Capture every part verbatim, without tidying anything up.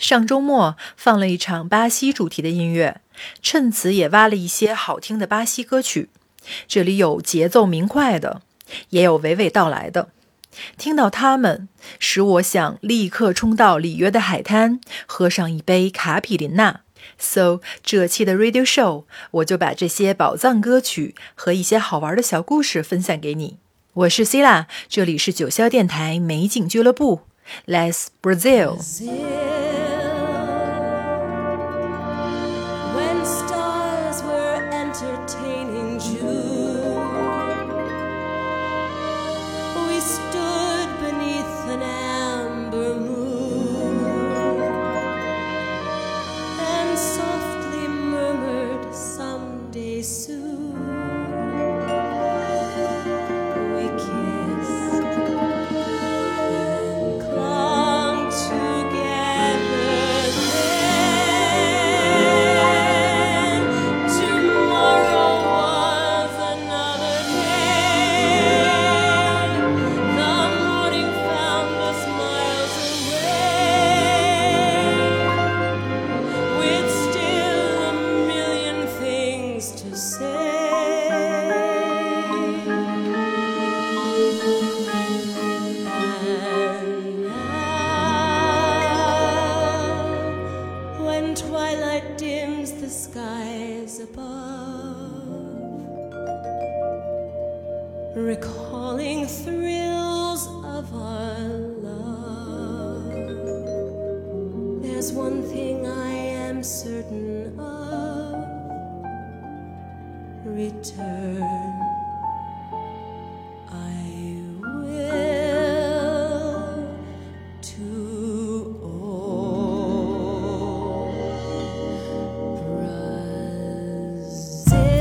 上周末放了一场巴西主题的音乐，趁此也挖了一些好听的巴西歌曲。这里有节奏明快的，也有娓娓道来的。听到它们，使我想立刻冲到里约的海滩，喝上一杯卡比林娜。So 这期的 Radio Show 我就把这些宝藏歌曲和一些好玩的小故事分享给你。我是 Sila， 这里是九霄电台美景俱乐部。Let's Brazil。 Recalling thrills of our love, there's one thing I am certain of: return I will to old Brazil.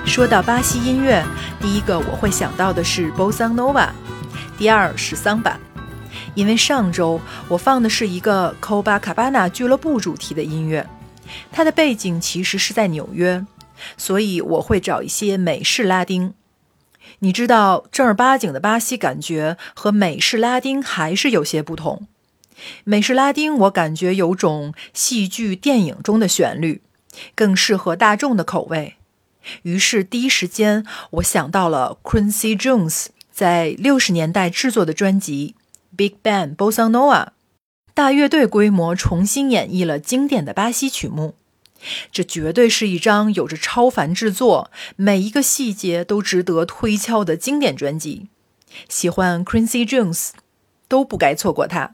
说到巴西音乐，第一个我会想到的是 Bossa Nova， 第二是桑巴。因为上周我放的是一个 Copacabana 俱乐部主题的音乐，它的背景其实是在纽约，所以我会找一些美式拉丁。你知道正儿八经的巴西感觉和美式拉丁还是有些不同。美式拉丁我感觉有种戏剧电影中的旋律，更适合大众的口味。于是第一时间我想到了 Quincy Jones 在六十年代制作的专辑 Big Band Bossa Nova， 大乐队规模重新演绎了经典的巴西曲目。这绝对是一张有着超凡制作，每一个细节都值得推敲的经典专辑。喜欢 Quincy Jones 都不该错过它。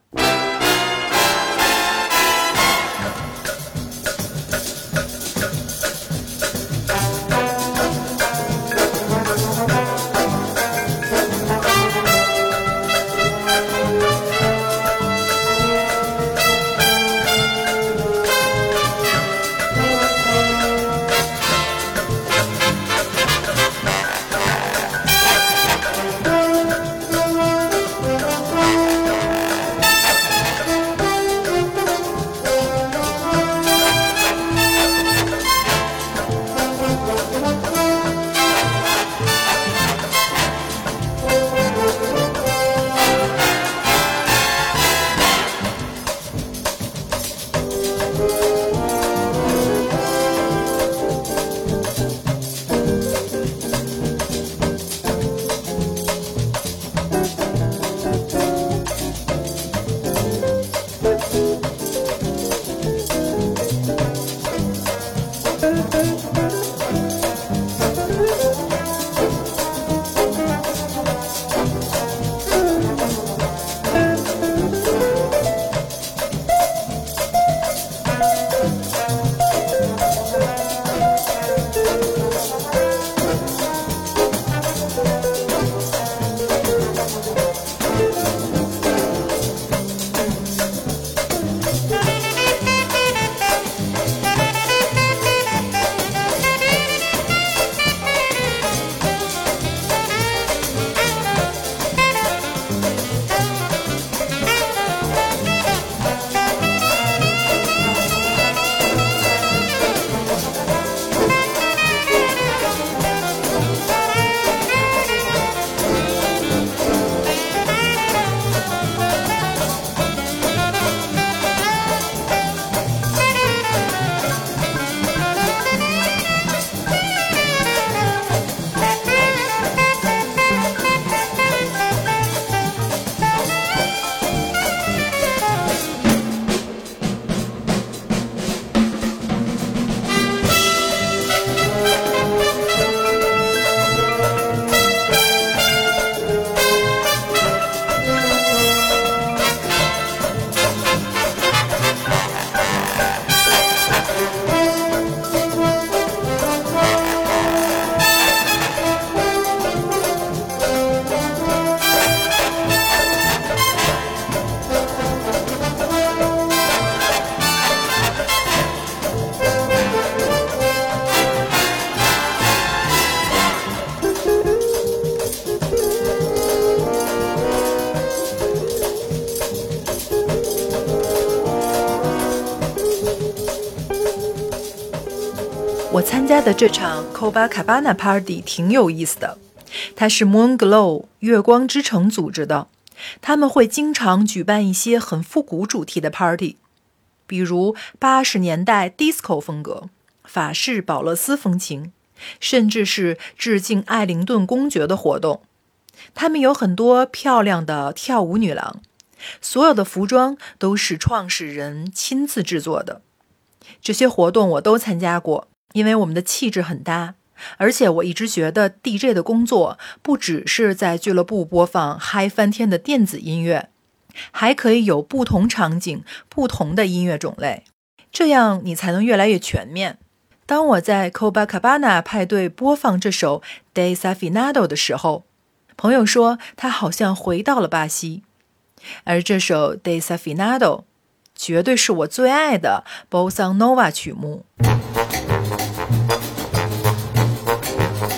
我参加的这场 Copacabana Party 挺有意思的，它是 Moon Glow 月光之城组织的，他们会经常举办一些很复古主题的 party， 比如八十年代 disco 风格、法式保勒斯风情，甚至是致敬艾灵顿公爵的活动。他们有很多漂亮的跳舞女郎，所有的服装都是创始人亲自制作的。这些活动我都参加过，因为我们的气质很搭，而且我一直觉得 D J 的工作不只是在俱乐部播放嗨翻天的电子音乐，还可以有不同场景、不同的音乐种类，这样你才能越来越全面。当我在 Copacabana 派对播放这首 Desafinado 的时候，朋友说他好像回到了巴西，而这首 Desafinado 绝对是我最爱的 Bossa Nova 曲目。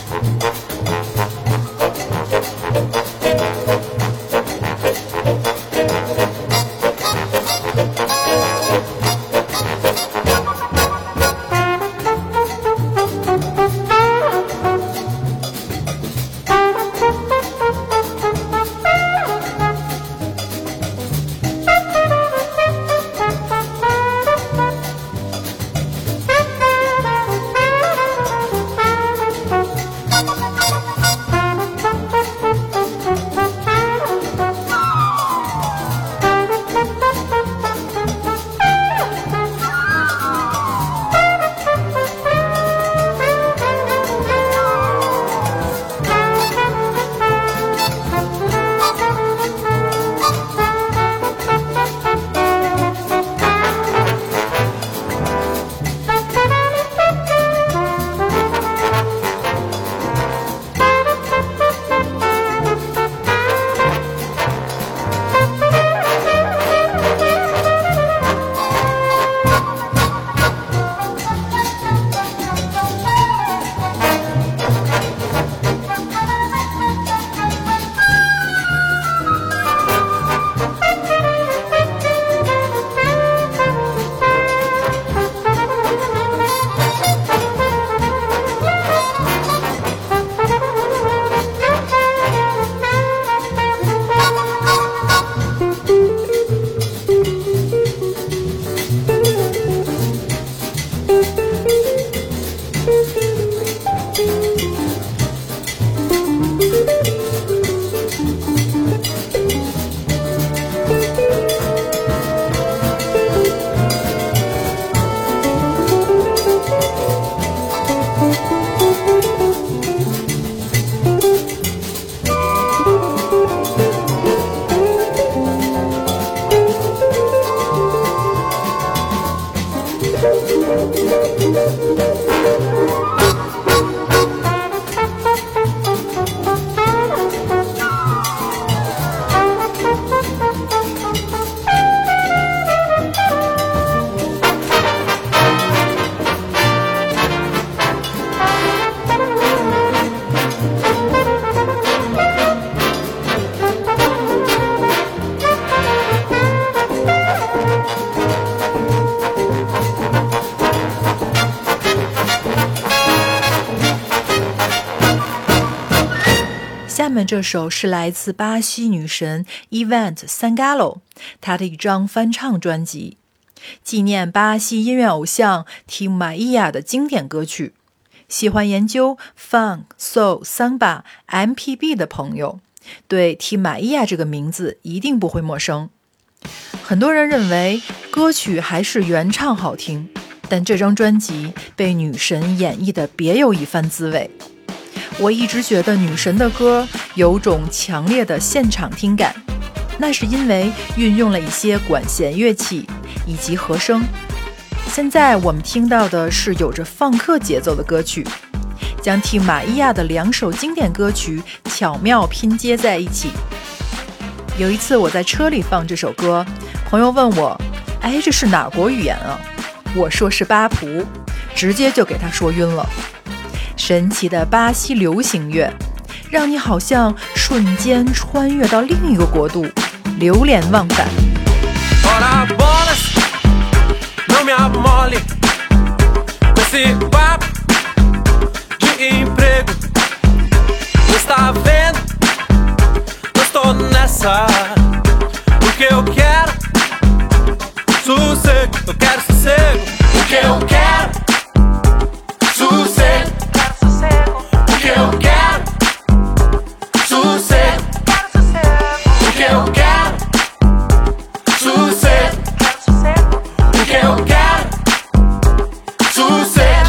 下面这首是来自巴西女神 Ivete Sangalo 她的一张翻唱专辑，纪念巴西音乐偶像 Tim Maia 的经典歌曲。喜欢研究 Funk、Soul、Samba、M P B 的朋友，对 Tim Maia 这个名字一定不会陌生。很多人认为歌曲还是原唱好听，但这张专辑被女神演绎的别有一番滋味。我一直觉得女神的歌有种强烈的现场听感，那是因为运用了一些管弦乐器以及和声。现在我们听到的是有着放克节奏的歌曲，将Tim Maia的两首经典歌曲巧妙拼接在一起。有一次我在车里放这首歌，朋友问我，哎，这是哪国语言啊？我说是巴普，直接就给他说晕了。神奇的巴西流行乐，让你好像瞬间穿越到另一个国度，流连忘返。 Ora bolas, não me amole com esse papo de emprego. Não está vendo? Eu estou nessa porque eu quero sossego, eu quero sossego. Porque eu quero sossego, porque eu quero sossego, porque eu quero sossego, porque eu quero sossego.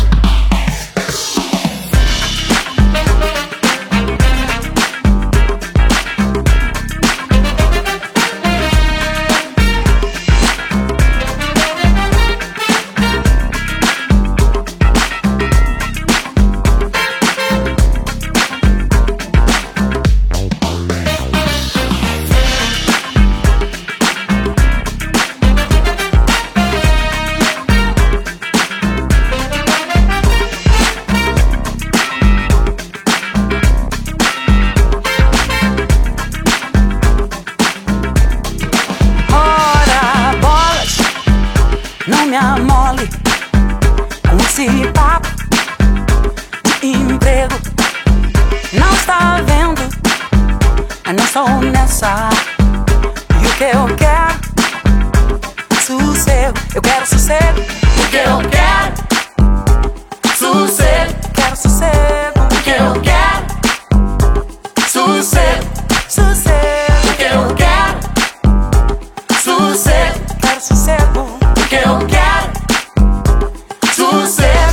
Não me amole com esse papo de emprego. Não está vendo? Eu não sou nessa. E o que eu quero? Sossego. Eu quero sossego. Porque eu quero sossego, Quero sossego. porque eu quero sossego, Sossego. porque eu quero sossego, Quero sossego. porque eu quero sossego.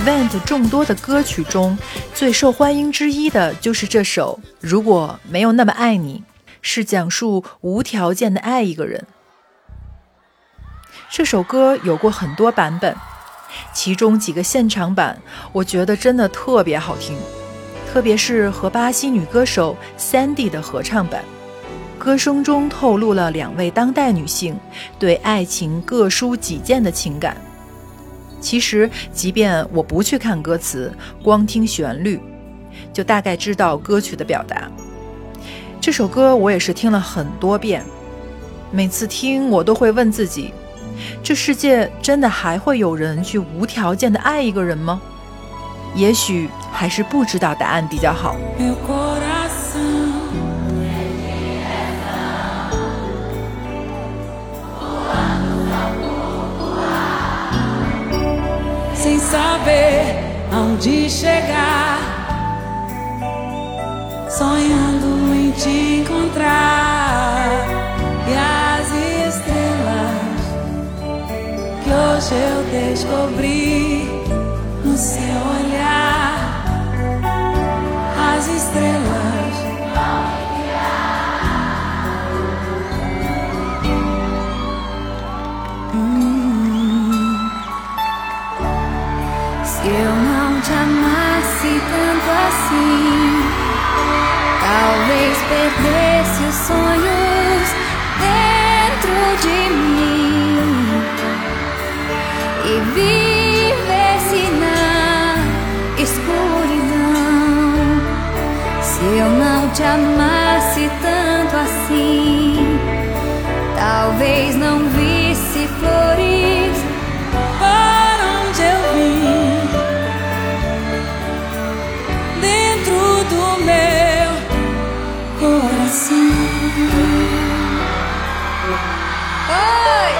Event 众多的歌曲中最受欢迎之一的就是这首《如果没有那么爱你》，是讲述无条件的爱一个人。这首歌有过很多版本，其中几个现场版我觉得真的特别好听，特别是和巴西女歌手 Sandy 的合唱版，歌声中透露了两位当代女性对爱情各抒己见的情感。其实即便我不去看歌词，光听旋律就大概知道歌曲的表达。这首歌我也是听了很多遍，每次听我都会问自己，这世界真的还会有人去无条件的爱一个人吗？也许还是不知道答案比较好。 Sem saber aonde chegar, sonhando em te encontrar. E as estrelas que hoje eu descobri no seu olhar, as estrelas Se eu não te amasse tanto assim, talvez perdesse os sonhos dentro de mim e vivesse na escuridão. Se eu não te amasse tanto assim, talvez não visse flores para onde eu vim. Do meu coração. Oi!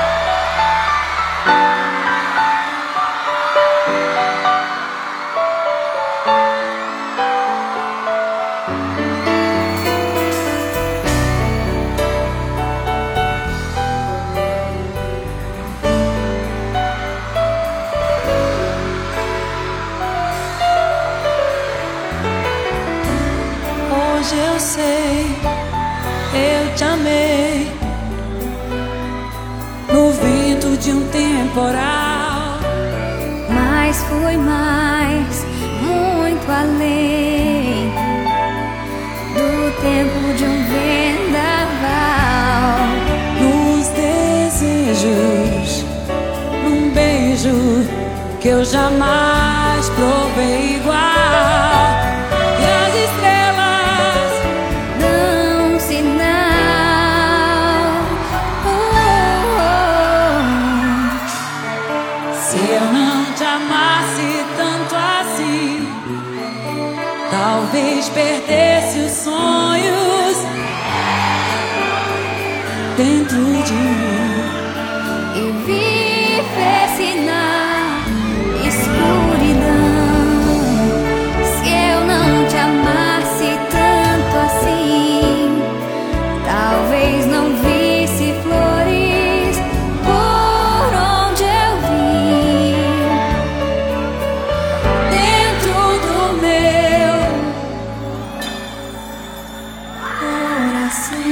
Hoje eu sei, eu te amei no vento de um temporal, mas foi mais, muito além do tempo de um vendaval. Nos desejos, num beijo que eu jamais provei igual. E as estrelas dão sinal. Oh, oh, oh. Se eu não te amasse tanto assim, talvez perdesse os sonhos dentro de mim e vivesse na escuridão. Se eu não te amasse tanto assim, talvez não visse flores por onde eu vim. Dentro do meu coração.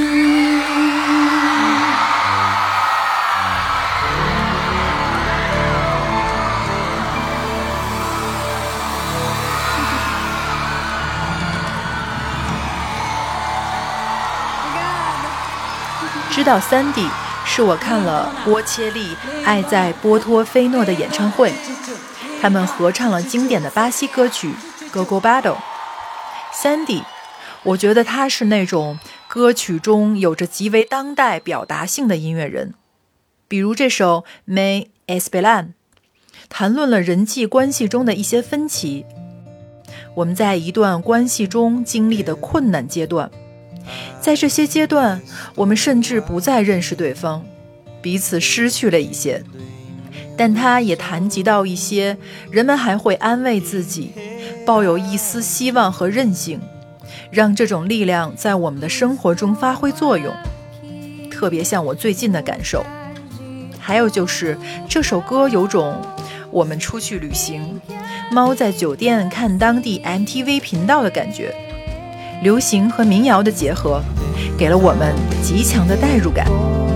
Obrigada. 知道 Sandy 是我看了波切利爱在波托菲诺的演唱会，他们合唱了经典的巴西歌曲 Go Go Battle。Sandy 我觉得他是那种歌曲中有着极为当代表达性的音乐人，比如这首 Me Esperan 谈论了人际关系中的一些分歧，我们在一段关系中经历的困难阶段，在这些阶段我们甚至不再认识对方，彼此失去了一些，但他也谈及到一些人们还会安慰自己，抱有一丝希望和韧性，让这种力量在我们的生活中发挥作用，特别像我最近的感受。还有就是这首歌有种我们出去旅行，猫在酒店看当地 M T V 频道的感觉，流行和民谣的结合，给了我们极强的代入感。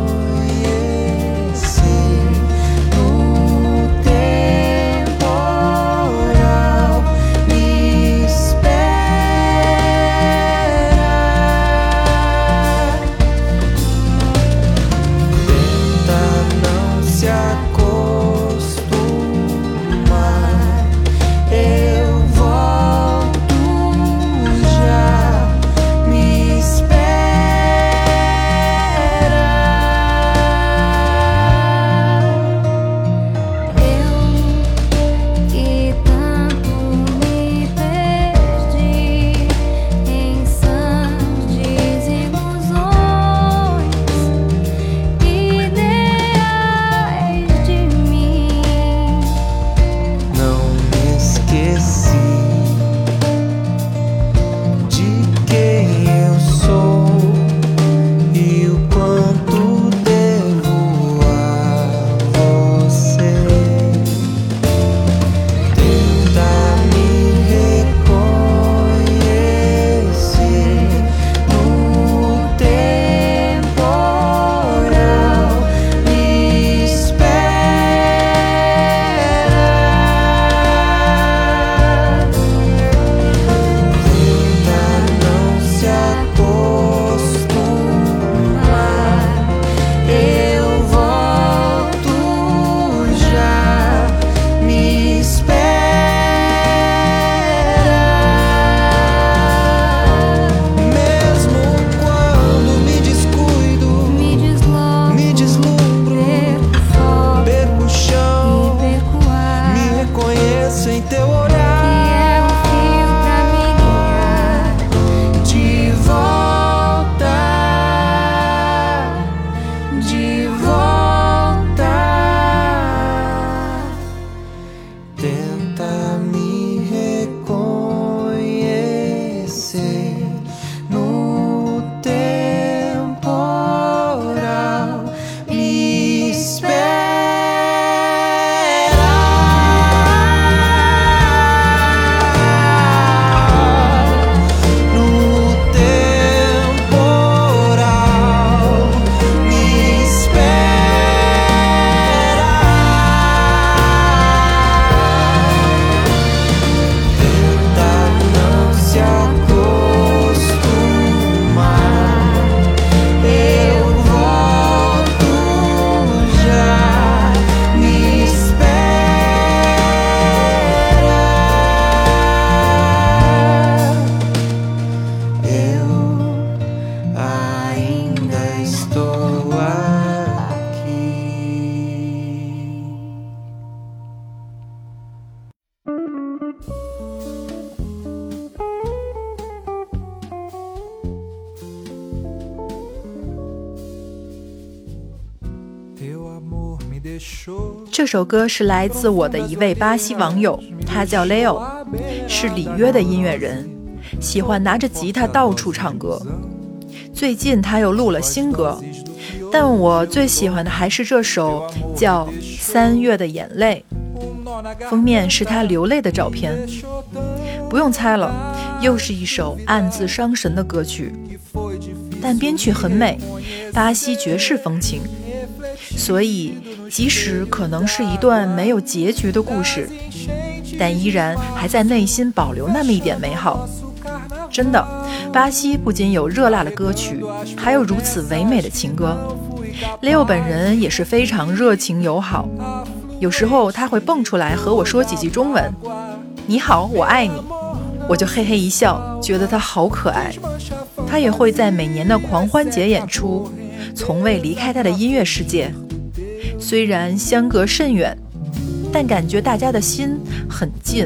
这首歌是来自我的一位巴西网友，他叫 Leo， 是里约的音乐人，喜欢拿着吉他到处唱歌。最近他又录了新歌，但我最喜欢的还是这首叫《三月的眼泪》，封面是他流泪的照片。不用猜了，又是一首暗自伤神的歌曲，但编曲很美，巴西爵士风情，所以即使可能是一段没有结局的故事，但依然还在内心保留那么一点美好。真的，巴西不仅有热辣的歌曲，还有如此唯美的情歌。Leo 本人也是非常热情友好，有时候他会蹦出来和我说几句中文，你好，我爱你，我就嘿嘿一笑，觉得他好可爱。他也会在每年的狂欢节演出，从未离开他的音乐世界。虽然相隔甚远，但感觉大家的心很近。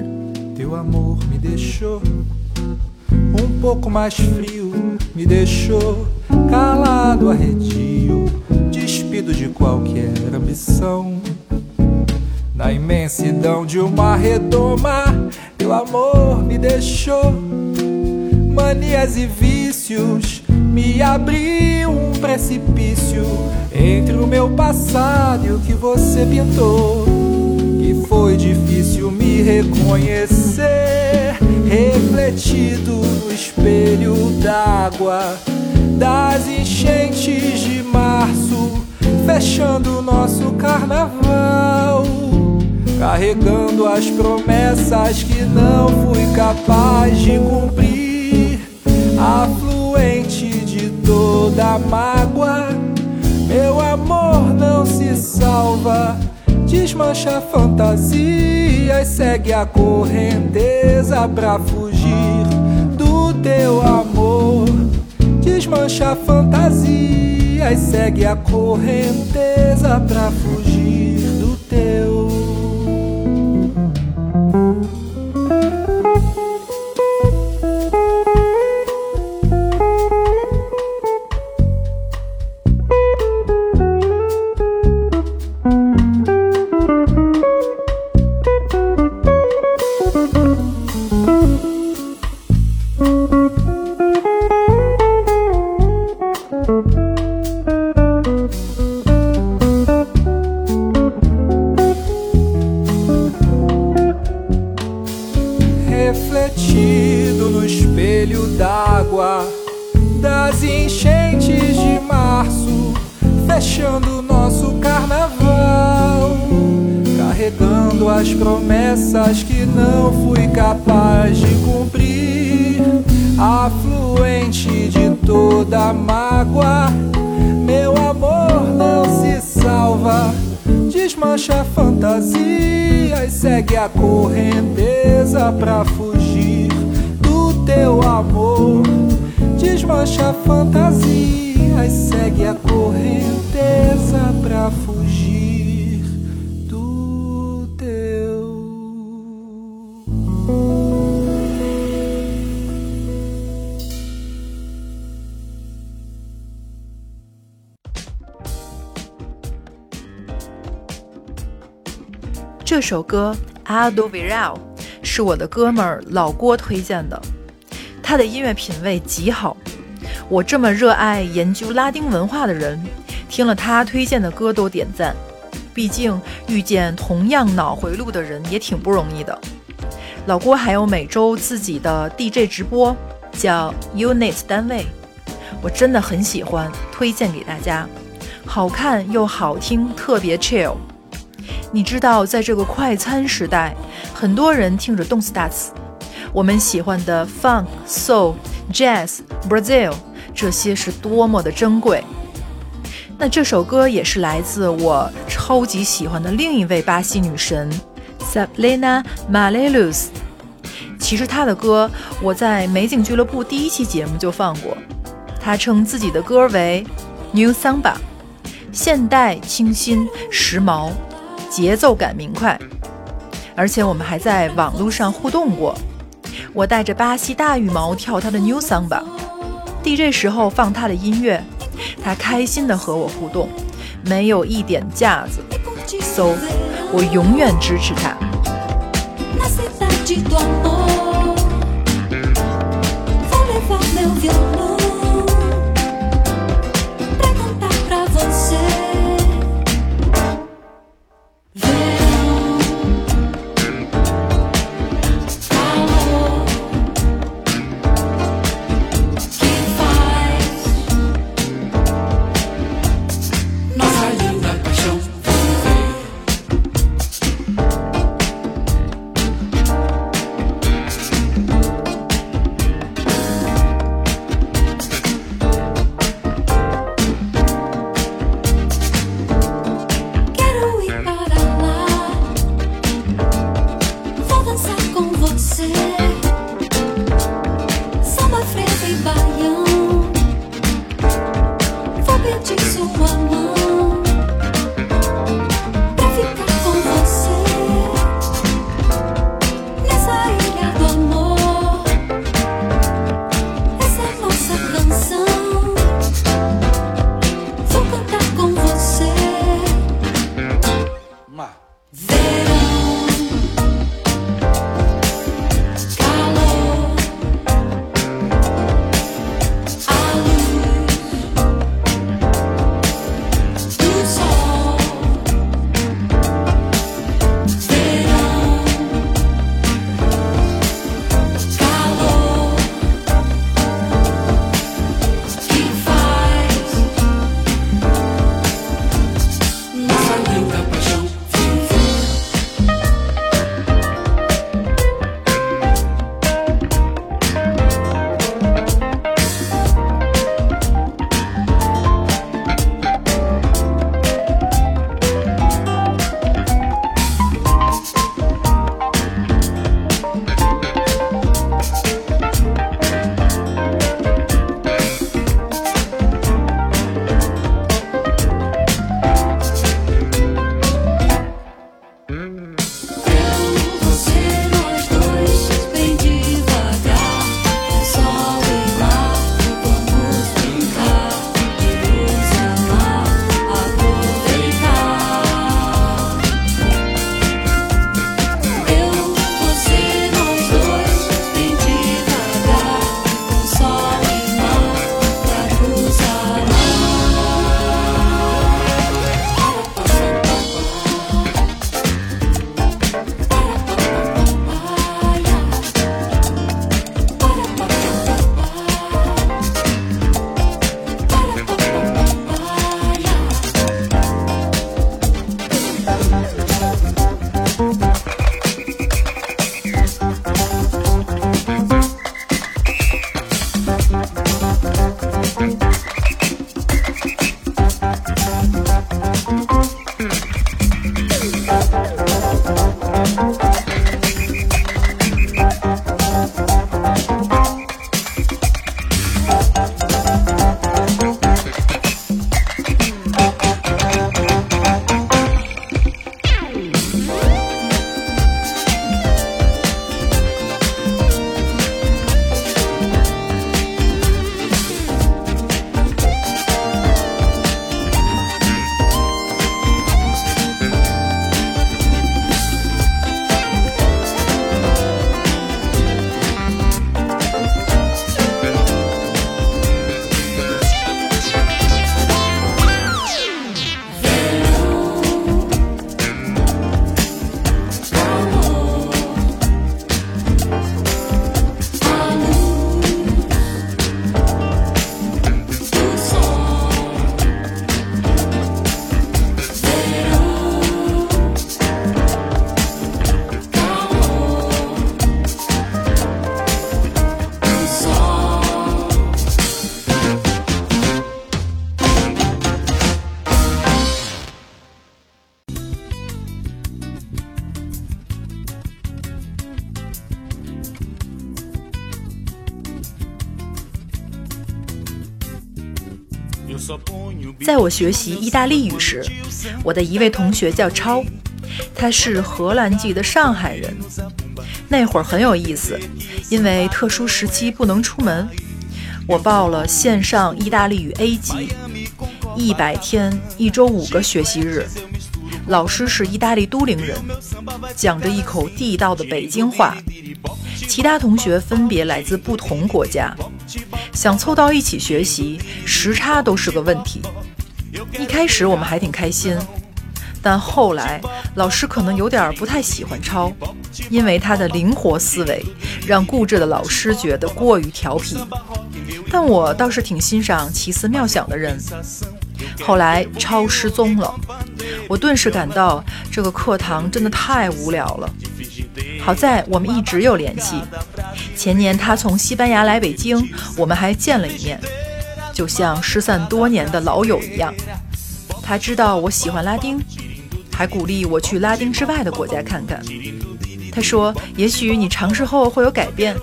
Um pouco mais frio, me deixou calado, arredio, despido de qualquer ambição. Na imensidão de uma redoma, teu amor me deixou manias e vícios, me abriu um precipício entre o meu passado e o que você pintou, que foi difícil me reconhecer, refletido no espelho d'água das enchentes de março, fechando nosso carnaval, carregando as promessas que não fui capaz de cumprir, afluente de toda mágoa. Meu amor não se salva, desmancha fantasias, segue a correnteza pra fugir do teu amor. Desmancha fantasias, segue a correnteza pra fugir do teu. Refletido no espelho d'água das enchentes de março, fechando nosso carnaval, carregando as promessas que não fui capaz de cumprir, afluente de toda mágoa. Meu amor não se salva, desmancha fantasias, segue a correnteza pra fugir do teu amor. Desmancha fantasias, segue a correnteza pra fugir do teu. 这首歌《Aldo Viral》是我的哥们儿老郭推荐的，他的音乐品味极好。我这么热爱研究拉丁文化的人，听了他推荐的歌都点赞。毕竟遇见同样脑回路的人也挺不容易的。老郭还有每周自己的 D J 直播，叫 Unit 单位，我真的很喜欢，推荐给大家。好看又好听，特别 chill。你知道，在这个快餐时代，很多人听着动次打次。我们喜欢的 Funk、Soul、Jazz、Brazil， 这些是多么的珍贵。那这首歌也是来自我超级喜欢的另一位巴西女神 Sabrina Malheiro。其实她的歌我在美景俱乐部第一期节目就放过。她称自己的歌为 New Samba， 现代、清新、时髦，节奏感明快。而且我们还在网络上互动过，我带着巴西大羽毛跳她的 New Samba， D J 时候放她的音乐，她开心地和我互动，没有一点架子。 So 我永远支持她。 在我学习意大利语时，我的一位同学叫超，他是荷兰籍的上海人。那会儿很有意思，因为特殊时期不能出门，我报了线上意大利语 A 级，一百天，一周五个学习日。老师是意大利都灵人，讲着一口地道的北京话。其他同学分别来自不同国家，想凑到一起学习，时差都是个问题。一开始我们还挺开心，但后来老师可能有点不太喜欢超，因为他的灵活思维让固执的老师觉得过于调皮。但我倒是挺欣赏奇思妙想的人。后来超失踪了，我顿时感到这个课堂真的太无聊了。好在我们一直有联系，前年他从西班牙来北京，我们还见了一面，就像失散多年的老友一样。他知道我喜欢拉丁，还鼓励我去拉丁之外的国家看看。他说也许你尝试后会有改变。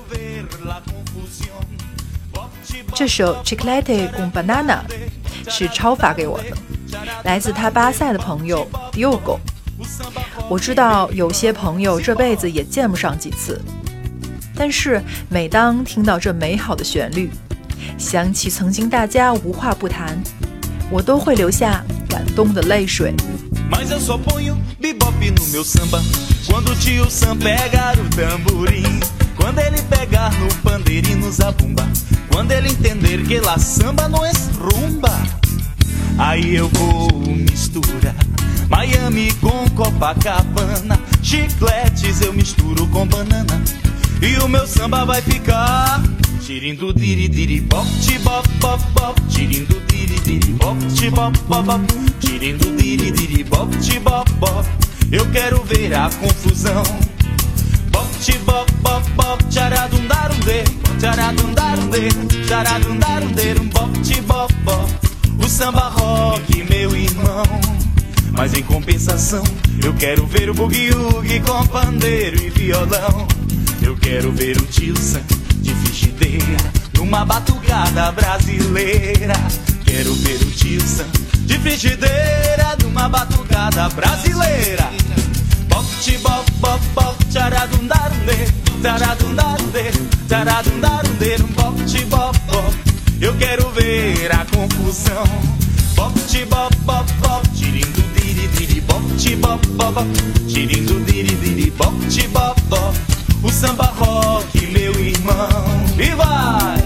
这首 Chiclete con Banana 是超发给我的，来自他巴塞的朋友 Diogo。 我知道有些朋友这辈子也见不上几次，但是每当听到这美好的旋律，想起曾经大家无话不谈，我都会流下感动的泪水。 Mas eu só ponho bebop no meu samba quando o tio Sam pegar o tamborim, quando ele pegar no pandeiro e no zabumba, quando ele entender que lá samba não é rumba. Aí eu vou misturar Miami com Copacabana, chicletes eu misturo com banana, e o meu samba vai ficar tirindo diri diri bop bop bop bop, tirindo diri diri bop bop bop bop, tirindo diri diri bop bop bop. Eu quero ver a confusão. Bop bop bop bop, tcharadundarunde, tcharadundarunde, tcharadundarunde, bop bop bop. O samba rock, meu irmão. Mas em compensação, eu quero ver o bugue-ugue com pandeiro e violão. Eu quero ver o tio Sam de frigideira numa batucada brasileira. Quero ver o tio Sam de frigideira numa batucada brasileira. Bop bop bop bop, tcharadundarunde, tcharadundarunde, tcharadundarunde, bop bop bop. Eu quero ver a confusão. Bop bop bop bop, tirindo diri diri bop bop bop bop, tirindo diri diri bop bop bop. O samba rock, meu irmão, e vai!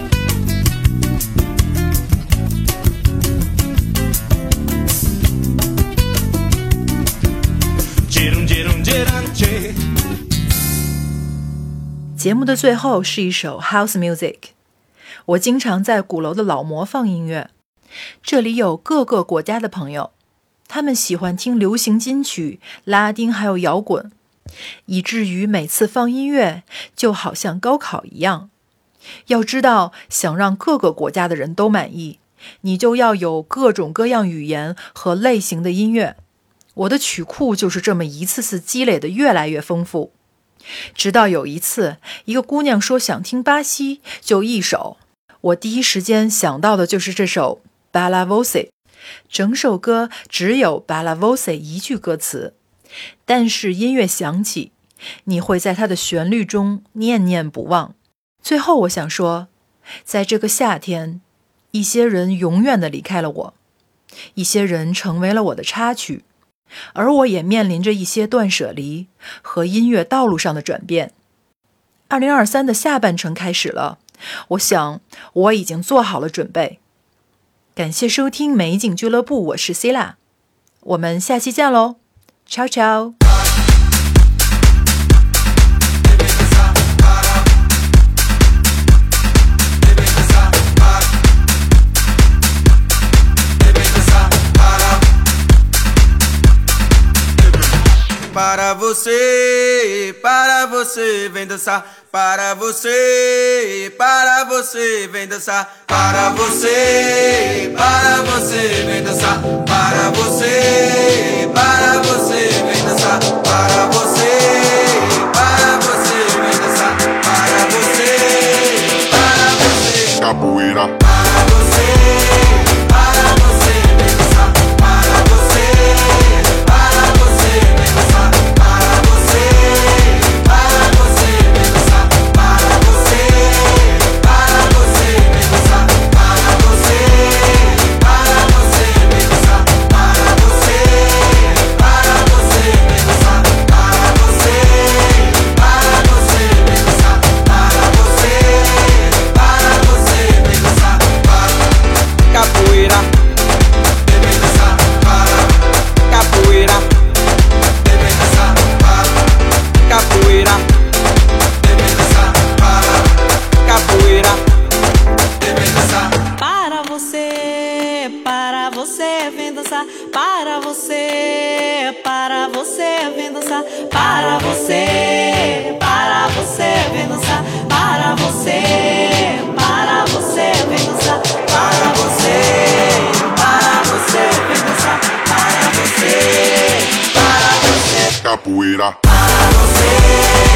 Tchirum tchirum tchirum tchê。 节目的最后是一首 House Music。 我经常在鼓楼的老魔放音乐，这里有各个国家的朋友，他们喜欢听流行金曲、拉丁还有摇滚，以至于每次放音乐就好像高考一样。要知道，想让各个国家的人都满意，你就要有各种各样语言和类型的音乐。我的曲库就是这么一次次积累的越来越丰富，直到有一次，一个姑娘说想听巴西，就一首。我第一时间想到的就是这首 Balla Voce， 整首歌只有 Balla Voce 一句歌词，但是音乐响起，你会在它的旋律中念念不忘。最后我想说，在这个夏天，一些人永远地离开了我，一些人成为了我的插曲，而我也面临着一些断舍离和音乐道路上的转变。二零二三的下半程开始了，我想我已经做好了准备。感谢收听美景俱乐部，我是 Sila， 我们下期见喽， ciao ciao。 Para você, para você, vem dançar. Para você, para você, vem dançar. Para você, para você, vem dançar. Para você, para você, vem dançar. Para você, para você, vem dançar. Para você, para você, capoeira. Para você, para você. você, vem dançar. Para você, para você, vem dançar. Para você, para você, vem dançar. Para você, para você, vem dançar. Para você, para você. Capoeira. Para você.